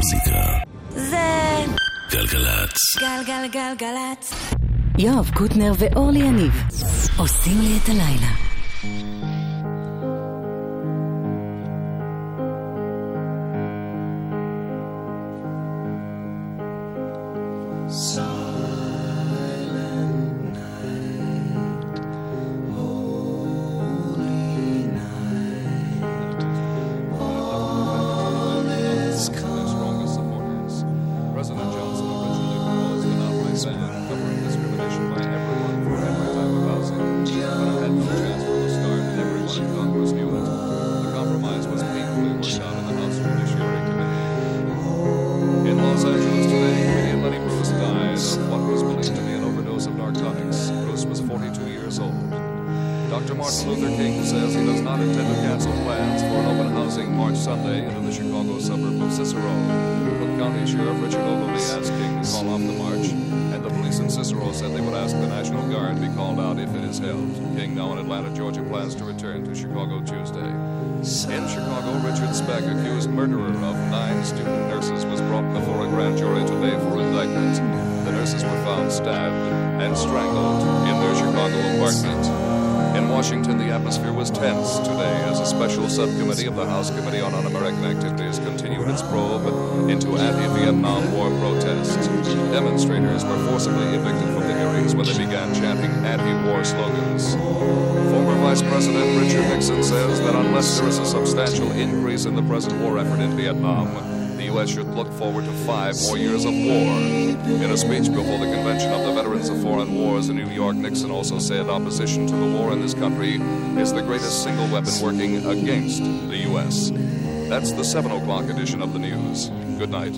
המוזיקה זה גלגלצ. גלגלגלגלצ. יואב קוטנר ואורלי יניב עושים לי את הלילה. Dr. Martin Luther King says he does not intend to cancel plans for an open housing March Sunday into the Chicago suburb of Cicero. Cook County Sheriff Richard Ogilvie asked King to call off the march, and the police in Cicero said they would ask the National Guard be called out if it is held. King, now in Atlanta, Georgia, plans to return to Chicago Tuesday. In Chicago, Richard Speck, accused murderer of 9 student nurses, was brought before a grand jury today for indictment. The nurses were found stabbed and strangled in their Chicago apartment. In Washington, the atmosphere was tense today as a special subcommittee of the House Committee on Un-American Activities continued its probe into anti-Vietnam War protests. Demonstrators were forcibly evicted from the hearings when they began chanting anti-war slogans. Former Vice President Richard Nixon says that unless there is a substantial increase in the present war effort in Vietnam, the U.S. should look forward to 5 more years of war. In a speech before the Convention of the Veterans of Foreign Wars in New York, Nixon also said opposition to the war in this country is the greatest single weapon working against the U.S. That's the 7 o'clock edition of the news. Good night.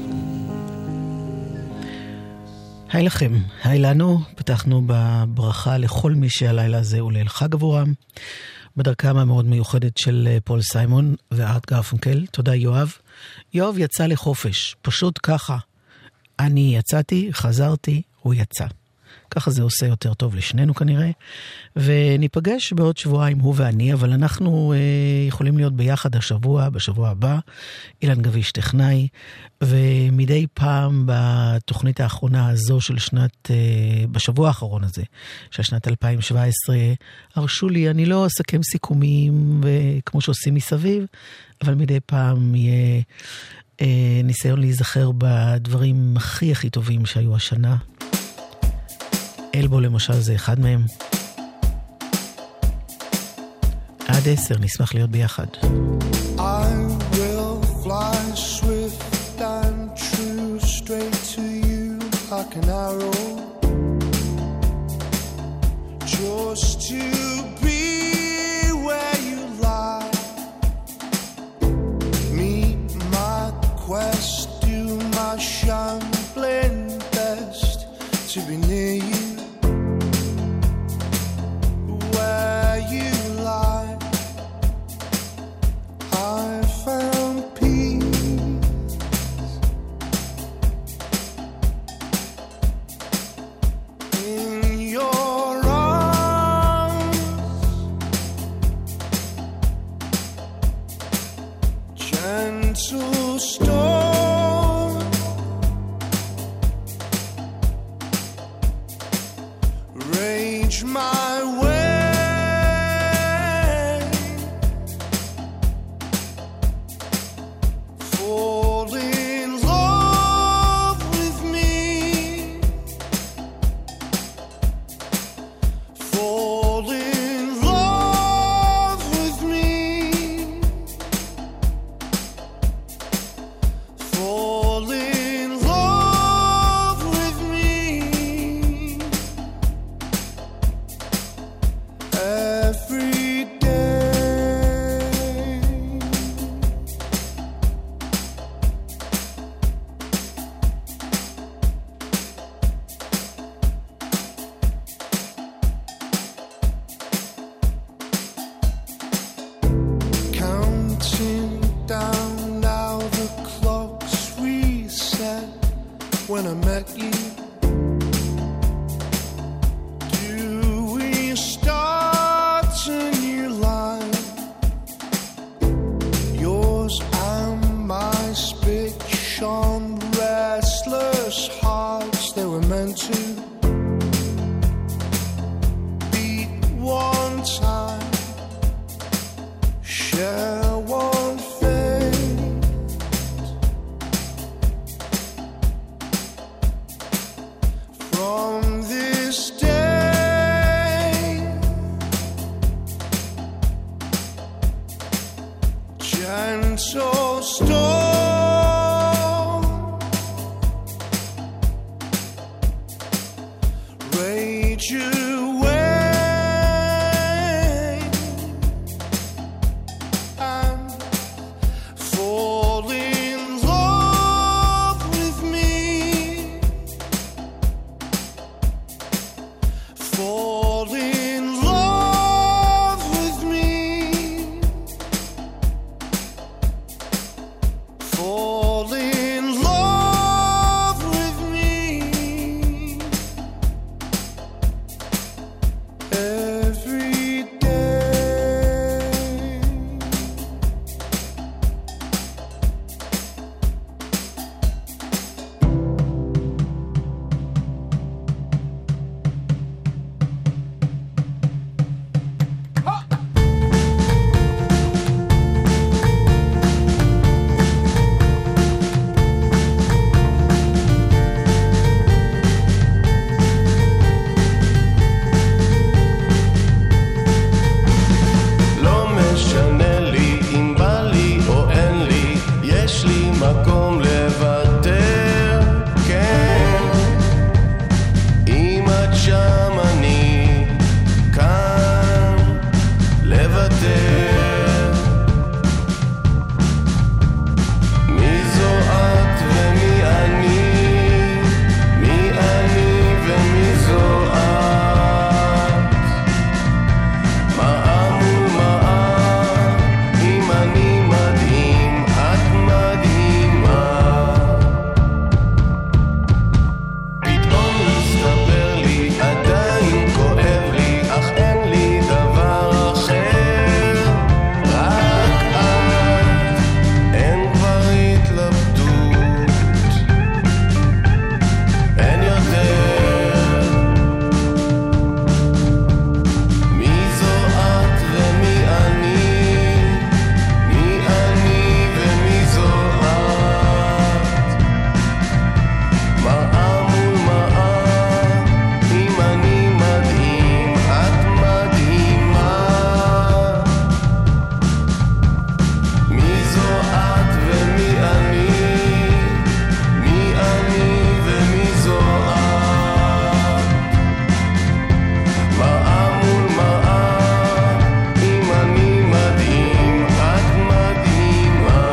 היי לכם, היי לנו. פתחנו בברכה לכל מי שהלילה הזה הוא ליל חג עבורם. בדרכם המאוד מיוחדת של פול סיימון וארט גרפונקל. תודה יואב. יואב יצא לחופש, פשוט ככה. אני יצאתי, חזרתי, הוא יצא. ככה זה עושה יותר טוב לשנינו כנראה. וניפגש בעוד שבועיים הוא ואני, אבל אנחנו יכולים להיות ביחד השבוע, בשבוע הבא. אילן גביש טכנאי, ומדי פעם בתוכנית האחרונה הזו של בשבוע האחרון הזה, של שנת 2017, הרשו לי, אני לא אסכם סיכומים כמו שעושים מסביב, אבל מדי פעם יהיה ניסיון להיזכר בדברים הכי טובים שהיו השנה. אלבו למשל זה אחד מהם. עד 10 נשמח להיות ביחד. I will fly swift and true straight to you like an arrow, just to be where you lie. Meet my quest, do my shambling best to be near you. Where you lie, I found peace in your arms, gentle storm, rage my way. When I met you, do we start a new line? Yours and my speech on מקום לוותר, כן. אם את שם אני כאן לוותר. מי זו את ומי אני, מי אני ומי זו את, מראה מול מראה, אם אני מדהים את מדהימה. פתאום מסתבר לי עדיין כואב לי, אך אין לי דבר אחר, רק את, אין כבר התלבטות, אין יותר. מי זו את ומי אני, מי אני ומי זו את, מראה מול מראה, אם אני מדהים את מדהימה. מי זו את ומי אני, מי אני ומי זו את, מראה מול מראה, אם אני מדהים את מדהימה.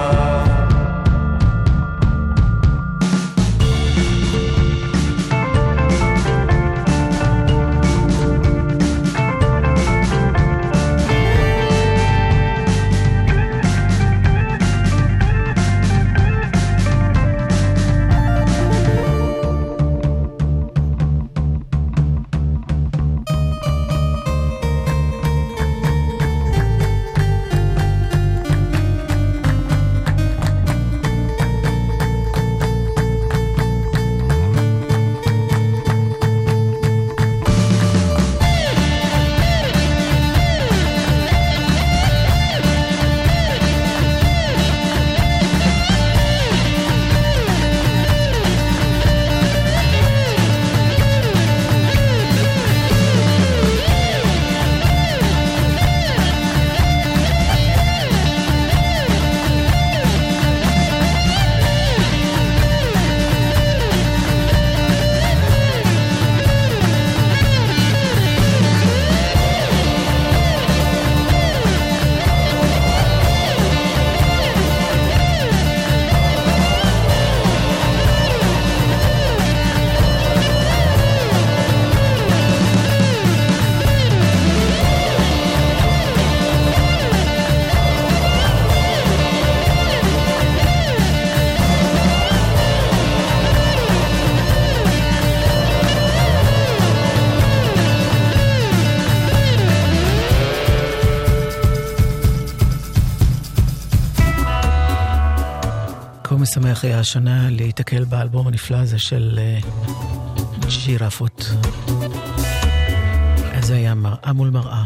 כה משמח היה השנה להתקל באלבום הנפלא הזה של ג'ירפות. אז זה היה מראה מול מראה.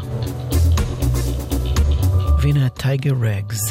והנה הטייגר רגס.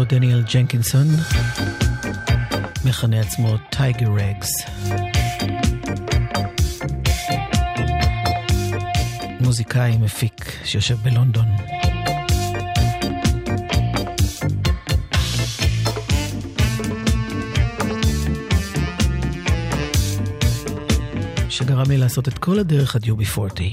דניאל ג'נקינסון, מכנה עצמו טייגר רגס. מוזיקאי מפיק שיושב בלונדון. שגרם לי לעשות את כל הדרך עד UB40.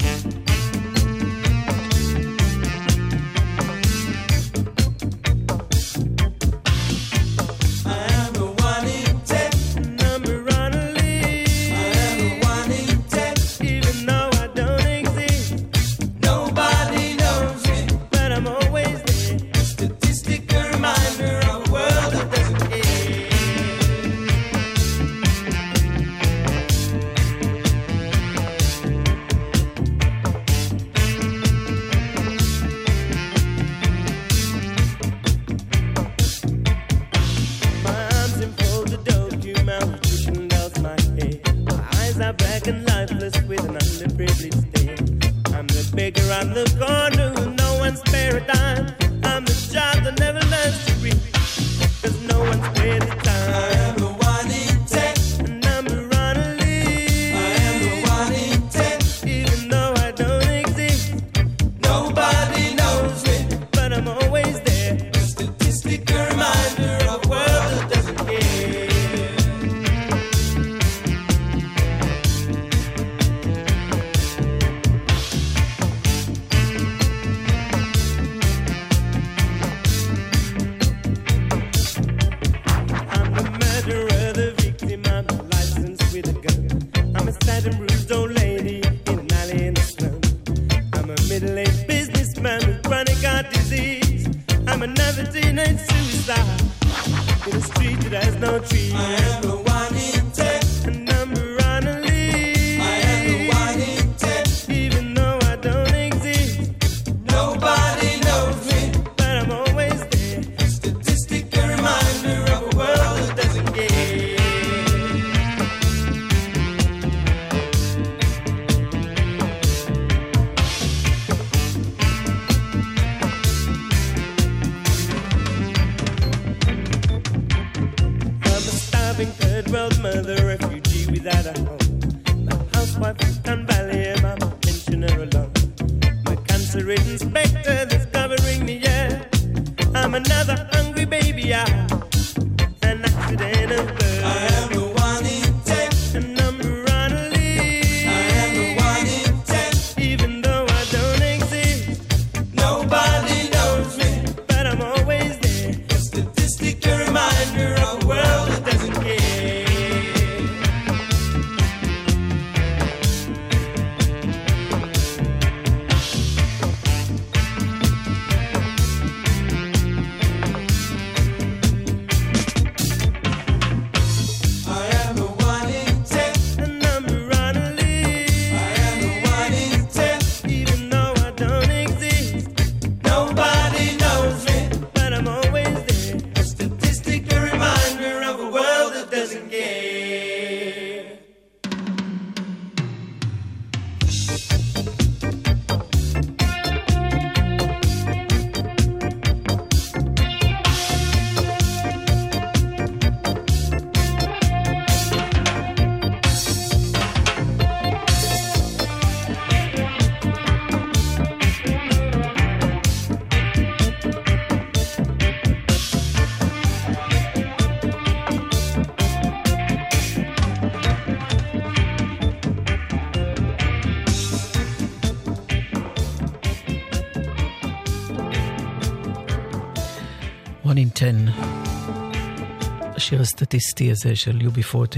השיר הסטטיסטי הזה של UB40.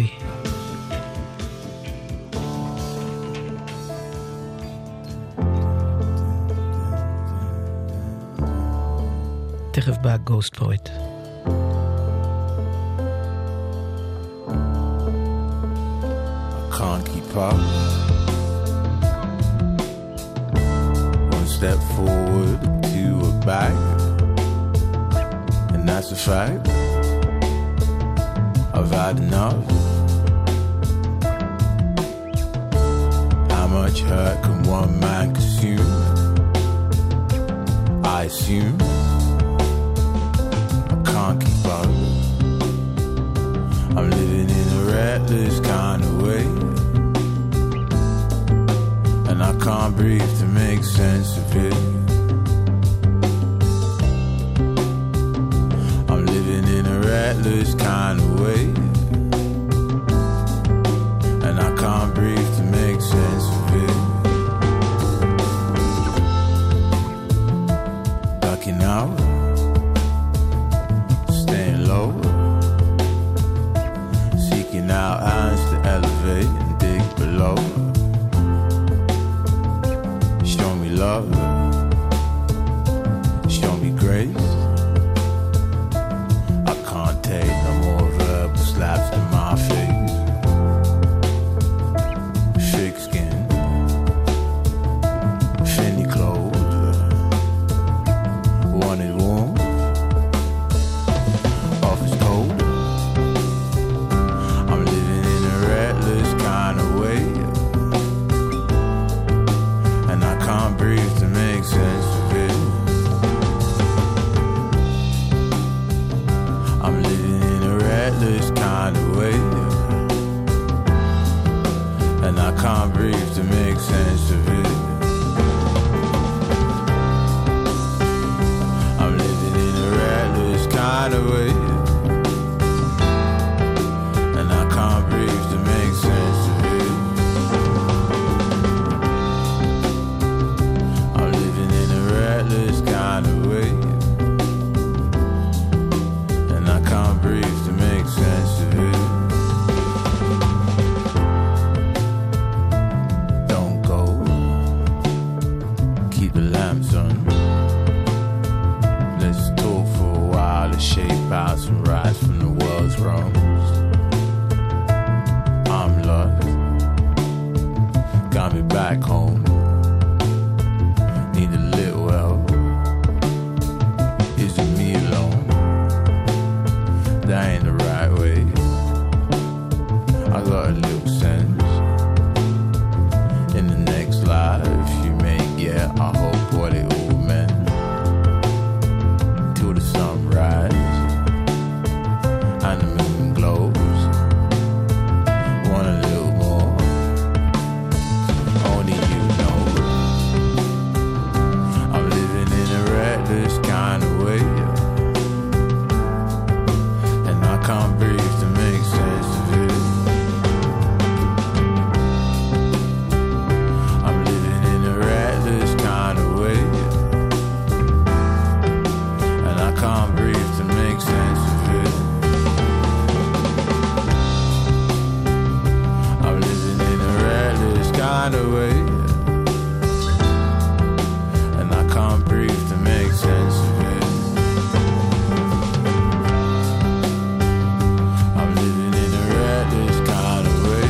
תכף בא גוסט פואט. Can't keep up. One step forward, two back, and that's a fact. I've had enough. How much hurt can one man consume? I assume I can't keep up. I'm living in a ratless kind of way, and I can't breathe to make sense of it. I'm living in a ratless kind of way, and I can't breathe to make sense of it. Ducking out, staying low, seeking out hands to elevate and dig below. Show me love, show me grace. I can't take no more verbal slaps to my face. Thick skin, finny clothes, wanted warm, office cold. I'm living in a ratless kind of way, and I can't breathe to make sense of it. I'm living in a ratless kind of way, and I can't breathe to make sense of it. I'm living in a ratless kind of way, and I can't breathe to make sense of it. I'm living in a ratless kind of way, and I can't breathe to make sense of it. Don't go, keep the lamps on. Let's talk for a while to shape out some rights from the world's wrongs. I'm lost, got me back home. Need a little help. Is it me alone? That ain't the right way. I got a little sense. In the next life you may get, I hope what it all meant. Till the sunrise and the moon glows. Want a little more, only you know. I'm living in a reckless kind of way, and I can't breathe to make sense of it. I'm living in a reckless kind of way, and I can't breathe to make sense of it. I'm living in a reckless kind of way, and I can't breathe to make sense of it. I'm living in a reckless kind of way,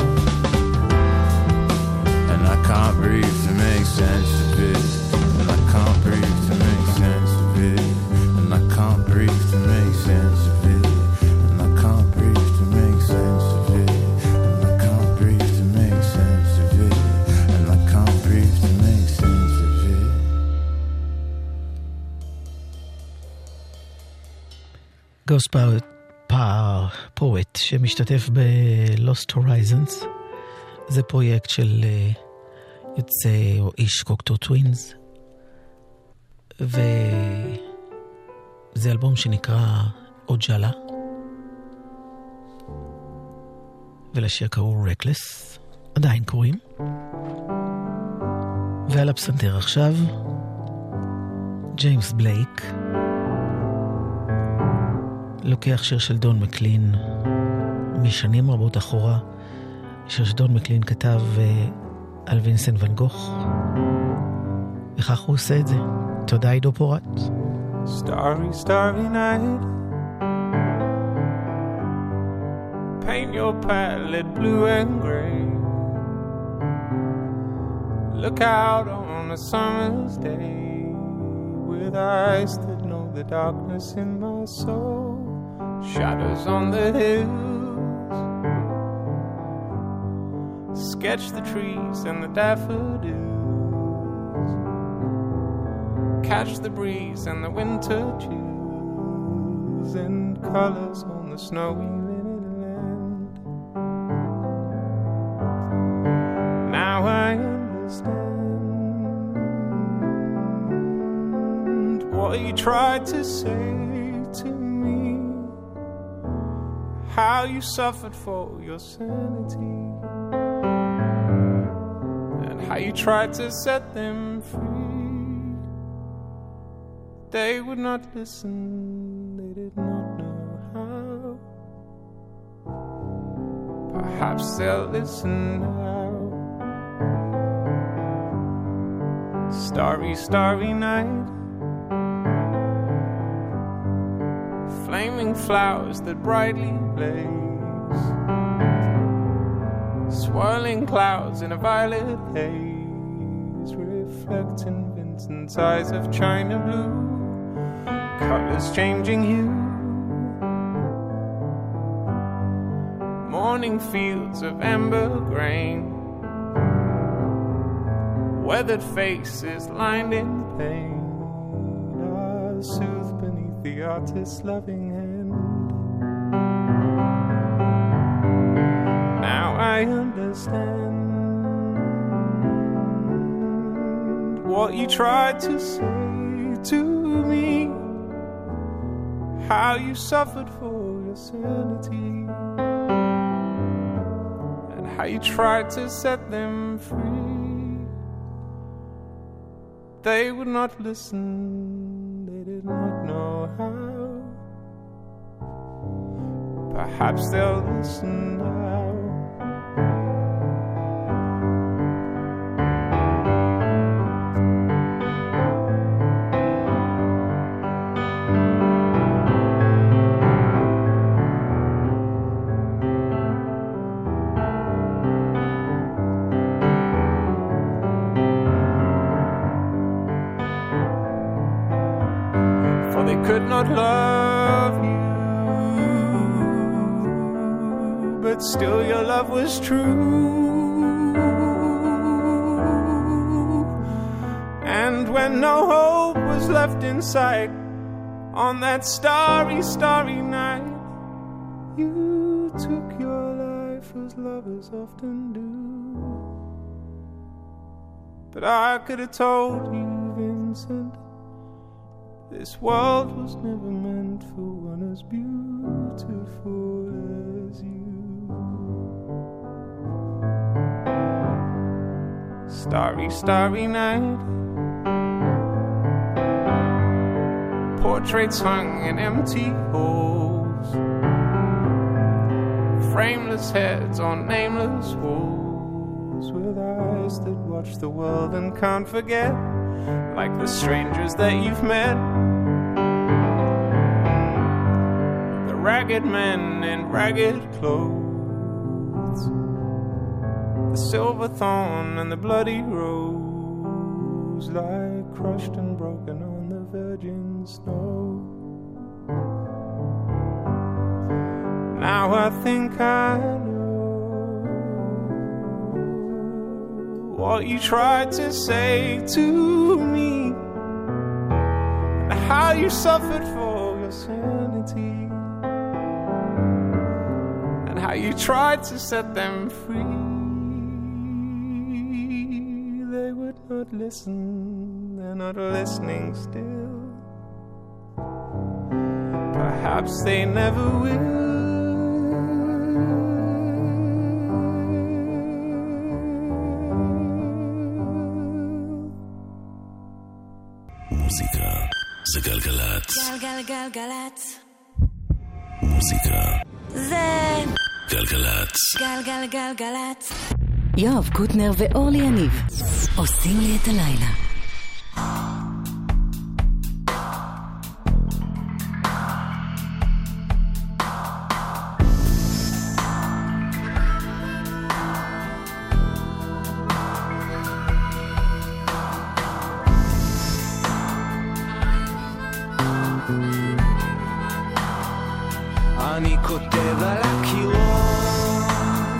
and I can't breathe to make sense of it. And I can't breathe to make sense of it. And I can't breathe to make sense of it. And I can't breathe to make sense of it. And I can't breathe to make sense of it. And I can't breathe to make sense of it. גוסט פואט שמשתתף ב-Lost Horizons. זה פרויקט של יוצא או איש קוקטור טווינס, וזה אלבום שנקרא אוג'אלה, ולשיר קראו רקלס, עדיין קוראים. ועל הפסנתר עכשיו ג'יימס בלייק לוקח שיר של דון מקלין משנים רבות אחורה, שיר שדון מקלין כתב על וינסנט ון גוך, וכך הוא עושה את זה. תודה עידו פורט. Starry, starry night, paint your palette blue and gray. Look out on a summer's day with eyes that know the darkness in my soul. Shadows on the hills, sketch the trees and the daffodils, catch the breeze and the winter chills. hills and colors on the snowy linen land. Now I understand what you tried to say to me, how you suffered for your sanity, and how you tried to set them free. They would not listen, they did not know how. Perhaps they'll listen now. Starry, starry night, flaming flowers that brightly blaze, swirling clouds in a violet haze, reflecting Vincent's eyes of china blue, colors changing hue, morning fields of amber grain, weathered faces lined in pain are soothed beneath the artist's loving hand. Now I understand what you tried to say to me, how you suffered for your sanity, and how you tried to set them free. They would not listen, they did not know how. Perhaps they'll listen now. Could not love you, but still your love was true. And when no hope was left in sight, on that starry, starry night, you took your life as lovers often do. But I could have told you, Vincent, this world was never meant for one as beautiful as you. Starry, starry night, portraits hung in empty halls, frameless heads on nameless walls, with eyes that watch the world and can't forget, like the strangers that you've met. The ragged men in ragged clothes, the silver thorn and the bloody rose lie crushed and broken on the virgin snow. Now I think I know what you tried to say to me, and how you suffered for your sanity, and how you tried to set them free. They would not listen, they're not listening still. Perhaps they never will. מוזיקה זה גלגלצ. גלגלגלגלצ. מוזיקה זה גלגלצ. גלגלגלגלצ. יואב קוטנר ואורלי יניב עושים לי את הלילה. אני כותב על הקירות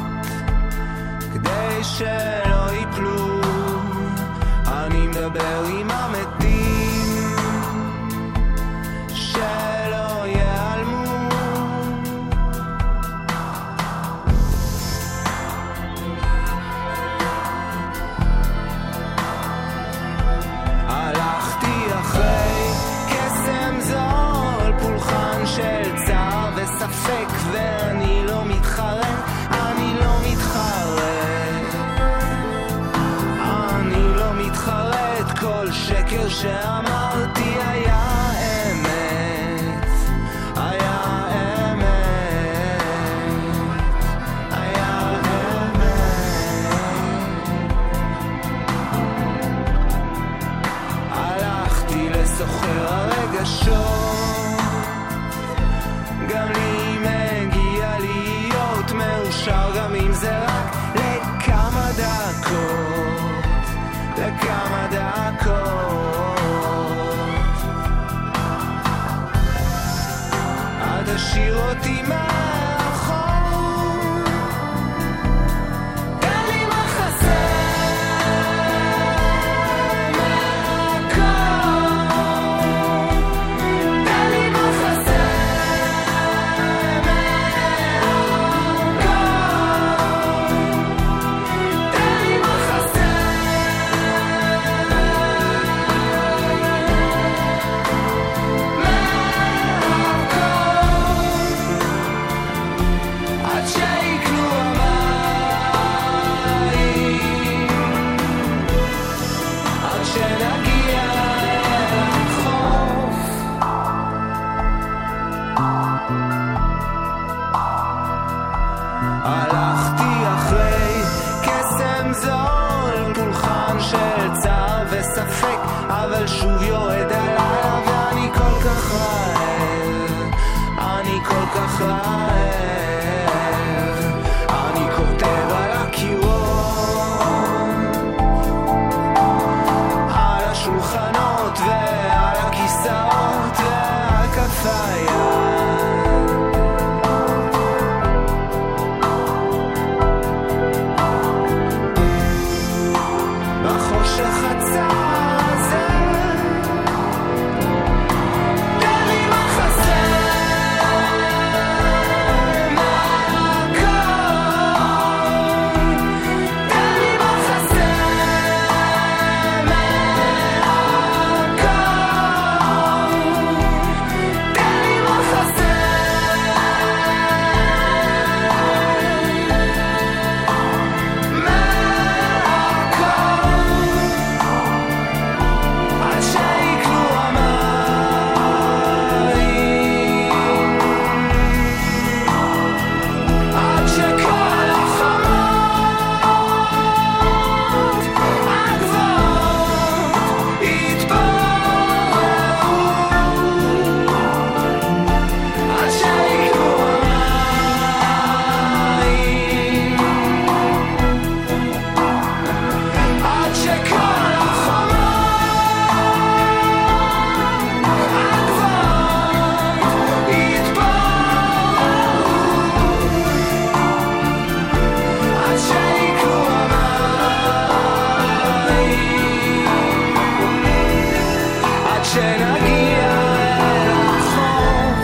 כדי שלא ייפלו, אני מדבר עם המתים שלא ייעלמו. השקר שאמרתי היה אמת, היה אמת, היה אמת. הלכתי לסוחר הרגשות, גם לי מגיע להיות מאושר, גם אם זה רק לכמה דקות, לכמה דקות. עד השאיר אותי מאחור, תן לי מחסה מהכל, תן לי מחסה מהכל, תן לי מחסה עד שיקלו המים, עד שנגיע לחוף. הלכתי אחרי קסם זול, פולחן של צער וספק, אבל שוב יורד הלילה ואני כל כך רעב, אני כל כך רעב. אני כותב על הקירות, על השולחנות ועל הכיסאות ועל כף היד, בחושך הצר הזה, תן לי מחסה מהכל, תן לי מחסה מהכל, תן לי מחסה עד שיקלו המים, עד שכל החומות הגבוהות יתפוררו, עד שיקלו המים, עד שכל החומות הגבוהות יתפוררו, עד שיקלו המים, עד שנגיע לחוף.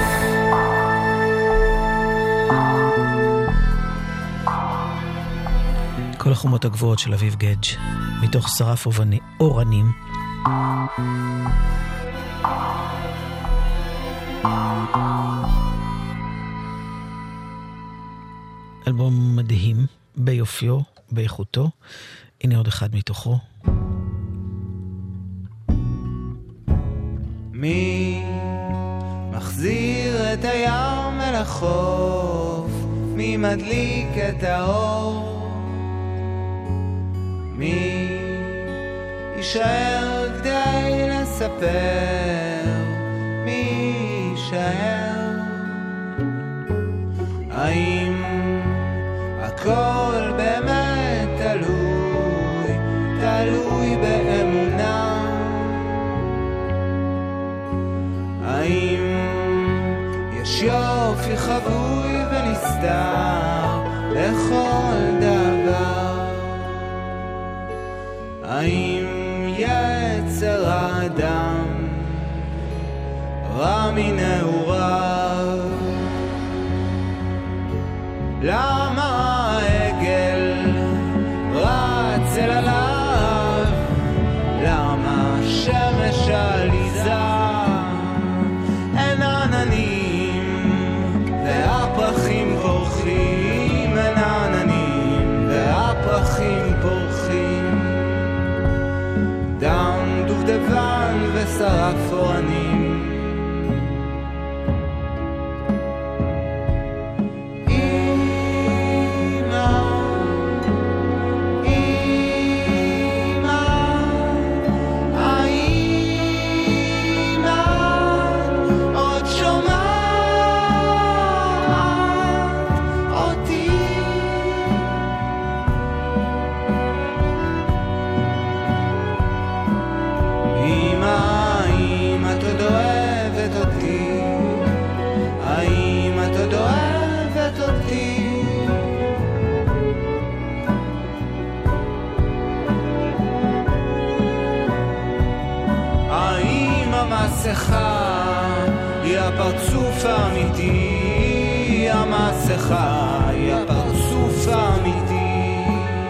כל החומות הגבוהות של אביב גדג' מתוך שרף אורנים. אלבום מדהים ביופיו, באיכותו. הנה עוד אחד מתוכו. מי מחזיר את הים אל החוף? מי מדליק את האור? מי יישאר כדי לספר? מי יישאר? האם הכל באמת תלוי באמונה? האם יש יופי חבוי ונסתר לכל דבר? האם יצר האדם רע מנעוריו? למה העגל רץ אל עליו? למה שמש עליזה אין עננים והפרחים פורחים? אין עננים והפרחים פורחים. דם דובדבן המסכה היא הפרצוף האמיתי, המסכה היא הפרצוף האמיתי.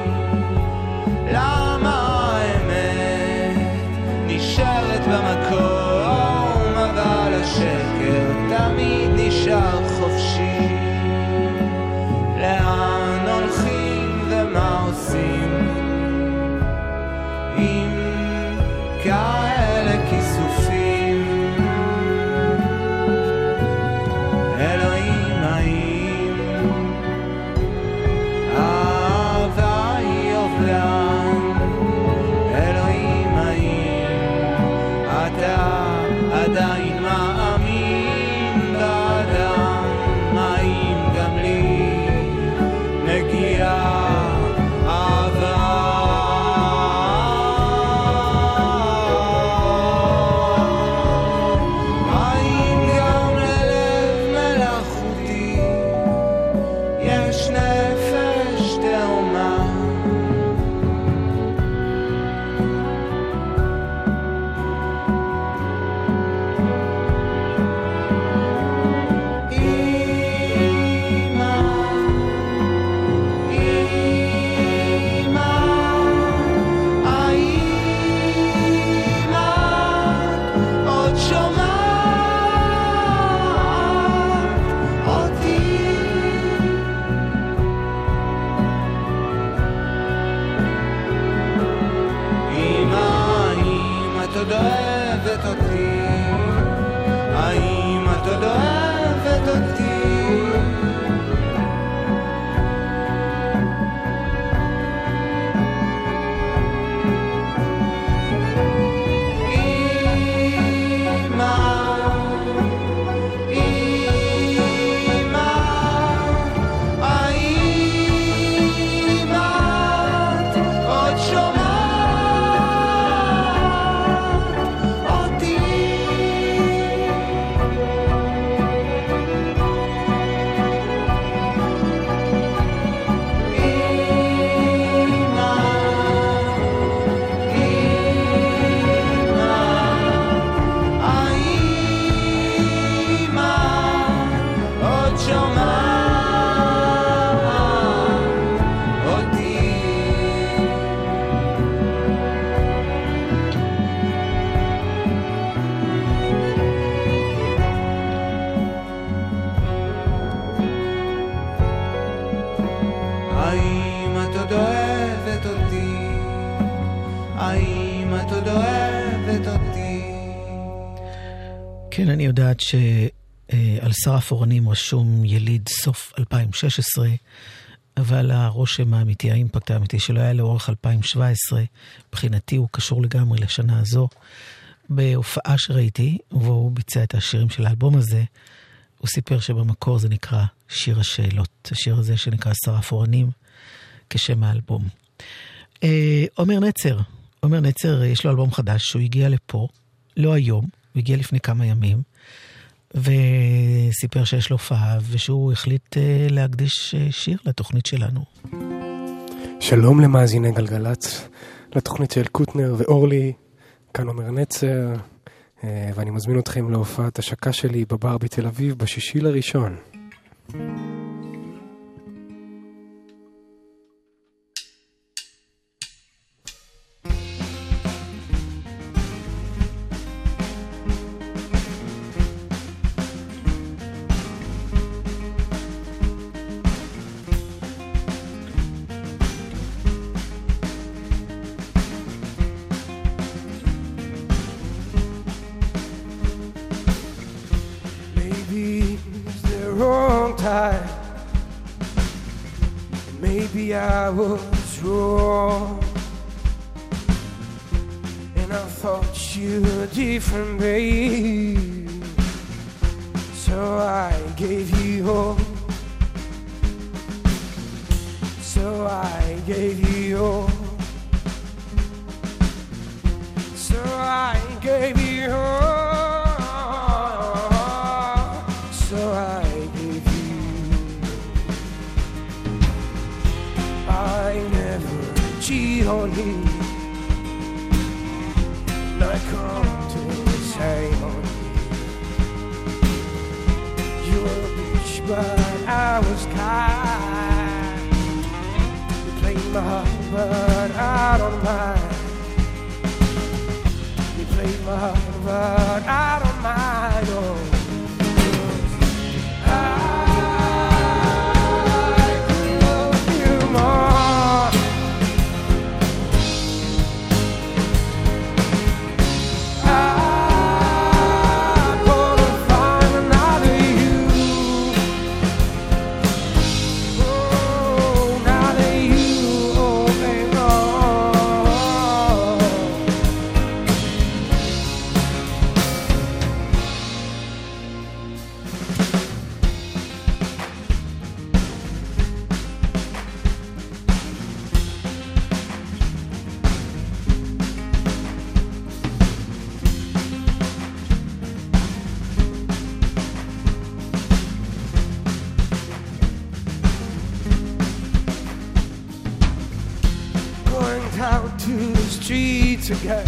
למה האמת נשארת במקום, אבל השקר תמיד נשאר חופשי? לאן הולכים ומה עושים עם כאלה כיסופים? אלוהים, האם האהבה היא אובלן? אלוהים, האם אתה עדיין מאמין באדם? האם גם לי מגיעה אהבה? האם גם ללב מלאכותי יש נפש תאומה? עוד שומעת אותי? האם את עוד אוהבת אותי? האם את עוד אוהבת אותי? האם את עוד אוהבת אותי? האם את עוד אוהבת אותי? כן, אני יודעת שעל שרף אורנים רשום יליד סוף 2016, אבל הרושם האמיתי, האימפקט האמיתי שלו היה לאורך 2017. מבחינתי הוא קשור לגמרי לשנה הזו. בהופעה שראיתי, והוא ביצע את השירים של האלבום הזה, הוא סיפר שבמקור זה נקרא שיר השאלות. השיר הזה שנקרא שרף אורנים, כשם האלבום. עומר נצר, יש לו אלבום חדש, שהוא הגיע לפה, לא היום, הוא הגיע לפני כמה ימים, וסיפר שיש לו הופעה, ושהוא החליט להקדיש שיר לתוכנית שלנו. שלום למאזיני גלגלצ, לתוכנית של קוטנר ואורלי, כאן עומר נצר, ואני מזמין אתכם להופעת השקה שלי בבר בתל אביב ב6/1. Maybe I was wrong, and I thought you were different, babe. So I gave you all. So I gave you all. So I gave you all. So I gave you. I never cheat on you. And I come to the same on but I was kind. You played my heart, but I don't mind. You played my heart, but I don't mind. Oh. Again.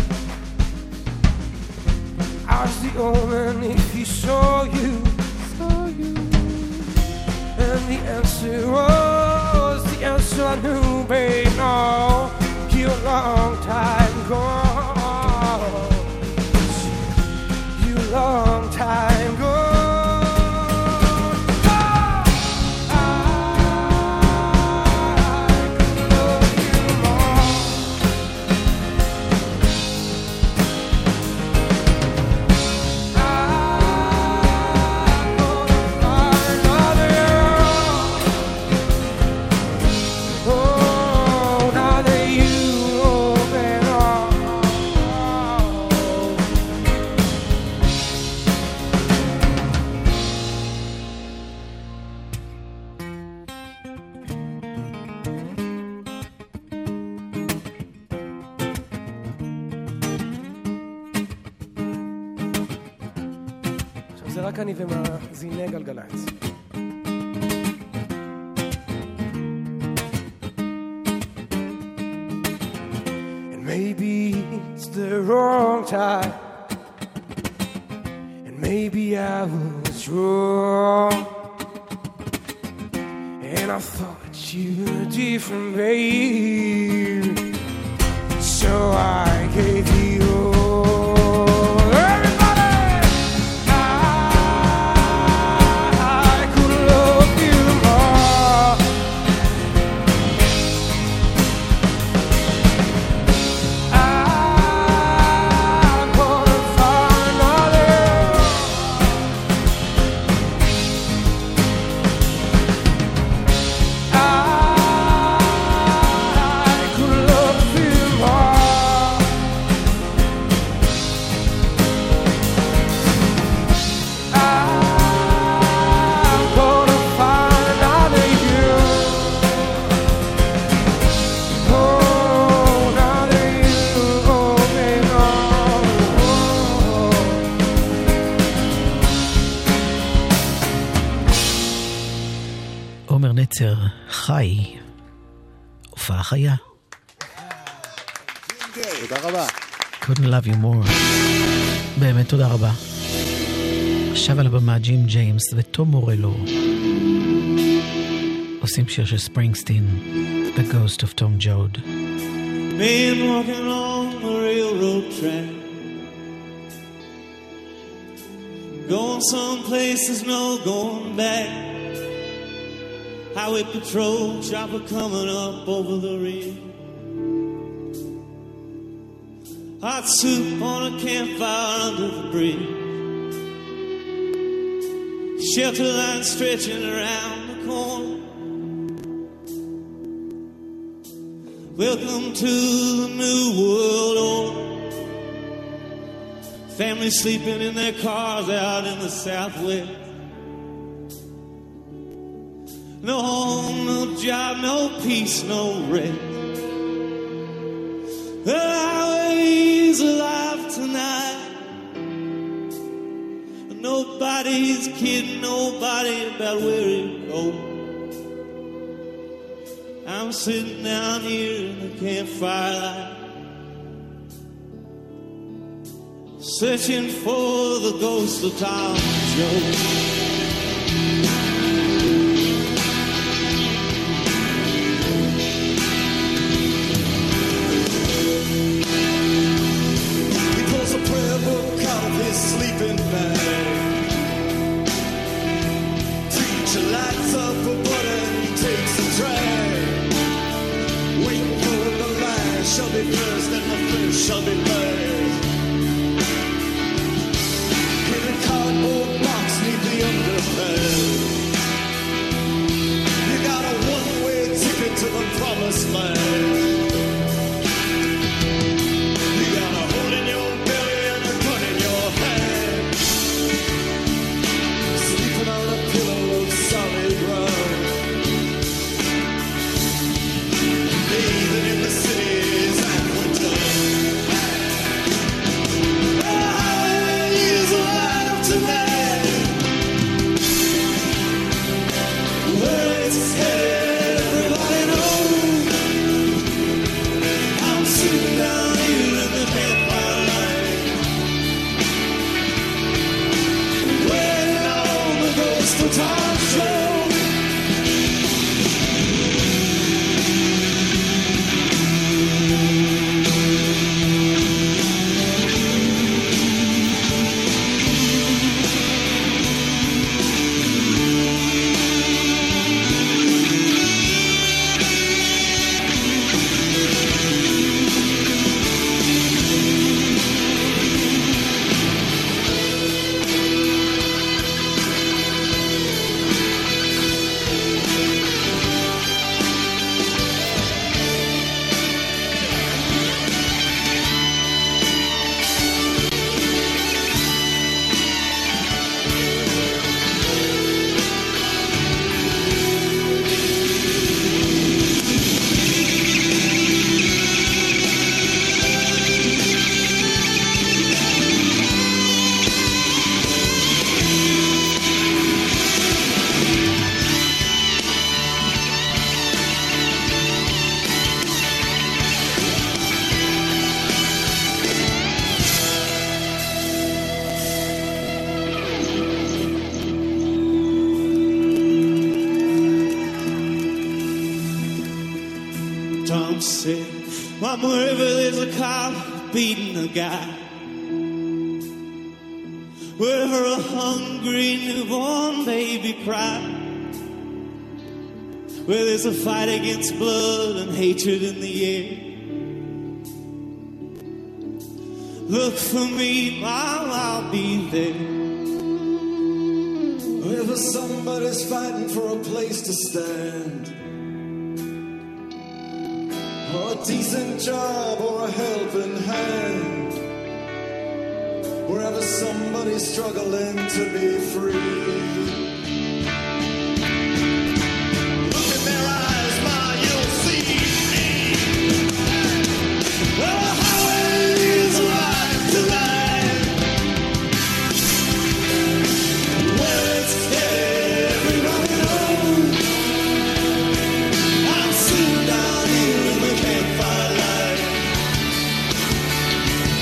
I was the omen if he saw you, and the answer was the answer I knew, babe. No, you a long time gone, you a long time gone. זה רק אני ומאזיני גלגלצ. And maybe it's the wrong time, and maybe I was wrong, and I thought you were different, babe, so I gave you חי, הופעה חיה. תודה רבה. Couldn't love you more. באמת תודה רבה. עכשיו על הבמה ג'ים ג'יימס וטום מורלו עושים שיר של ספרינגסטין, The Ghost of Tom Joad. Been walking along the railroad track, going someplace there's no going back. Highway patrol chopper coming up over the rail. Hot soup on a campfire under the bridge. Shelter line stretching around the corner. Welcome to the new world order. Families sleeping in their cars out in the Southwest. No home, no job, no peace, no rest. The highway's alive tonight. Nobody's kidding nobody about where it goes. I'm sitting down here in the campfire light, searching for the ghost of Tom Joad. shall be first and the first shall be last. In a cardboard box neath the underpass, you got a one-way ticket to the promised land. You got a hole in your belly and a gun in your hand, sleeping on a pillow of solid ground, bathing in the city's aqueduct. The highway is alive tonight, where it's headed, everybody knows. I'm sitting down here in the campfire light, waiting on the ghost of Tom Show. Tom said, I'm wherever there's a cop beating a guy, wherever a hungry newborn baby cries, where there's a fight against blood and hatred in the air. Look for me, I'll be there. Wherever somebody's fighting for a place to stand, or a decent job or a helping hand, wherever somebody's struggling to be free. Look in their eyes, ma, you'll see me. Well, the highway is alive tonight, where it's headed, everybody knows. I'm sitting down here in the campfire light,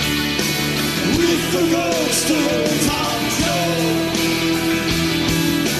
with the ghost of old Tom Joe.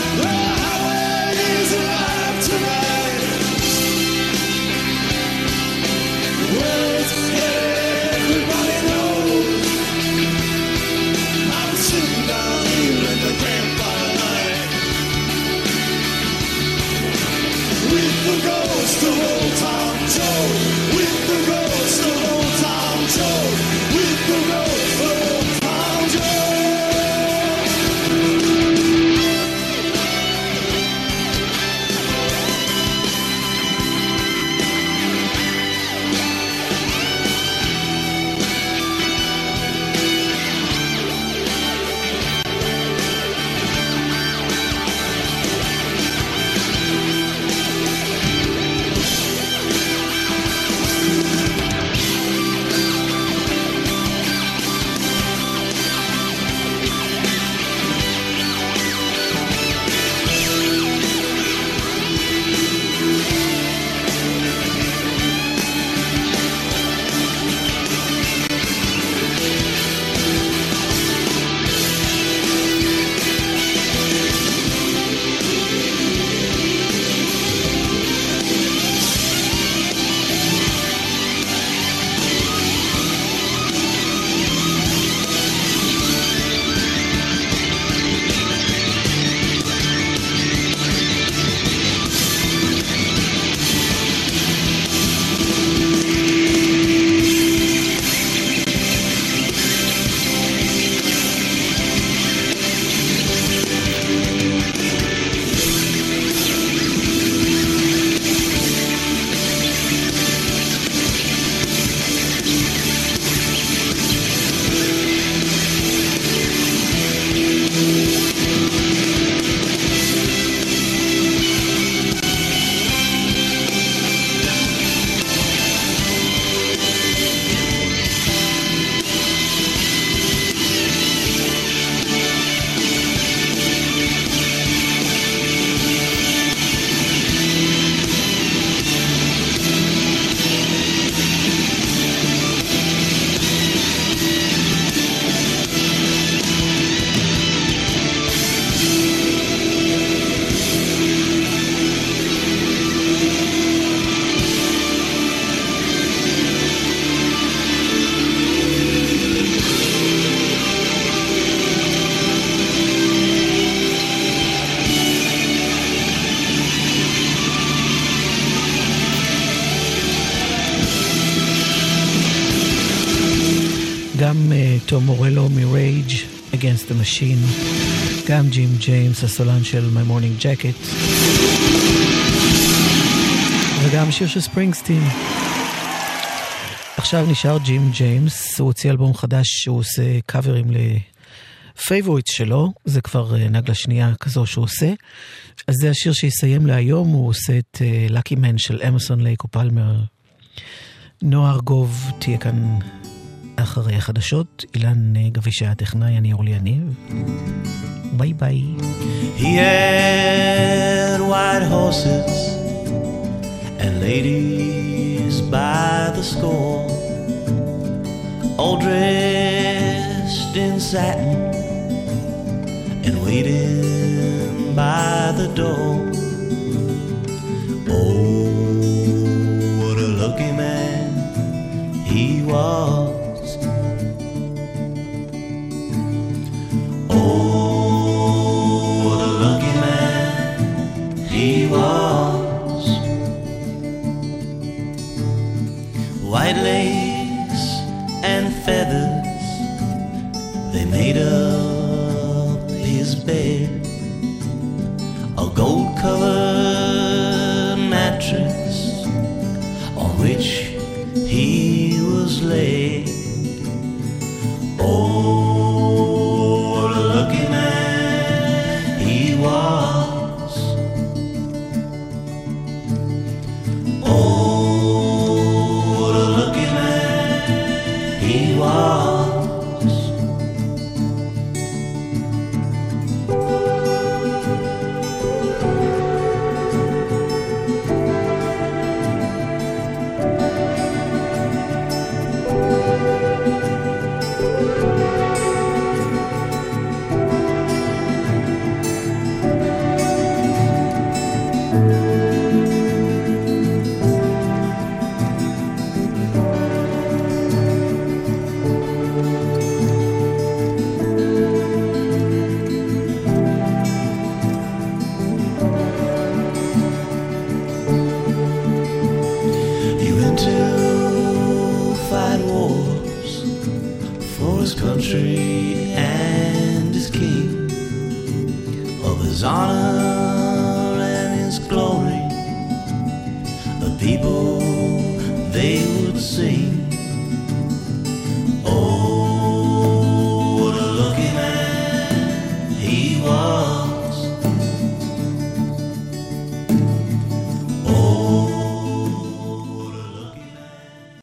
גם תום מורלו מ-Rage Against the Machine, גם ג'ים ג'יימס הסולן של My Morning Jacket, וגם שיר של ספרינגסטין. עכשיו נשאר ג'ים ג'יימס, הוא הוציא אלבום חדש שהוא עושה קאברים לפייבוריטס שלו, זה כבר נגלה שנייה כזו שהוא עושה. אז זה השיר שיסיים להיום, הוא עושה את Lucky Man של אמרסון לייק ופלמר. נועה ארגוב תהיה כאן אחרי החדשות, אילן גבישה הטכנאי, אני אורלי יניב. ביי ביי. He had white horses and ladies by the score, all dressed in satin and waiting by the door. Oh, what a lucky man he was. Oh, what a lucky man he was. White lace and feathers, they made up his bed. A gold-covered mattress on which he was laid. Oh, what a lucky man he was. Oh, what a lucky man he was. And his king, of his honor and his glory, the people they would sing. Oh, what a lucky man he was.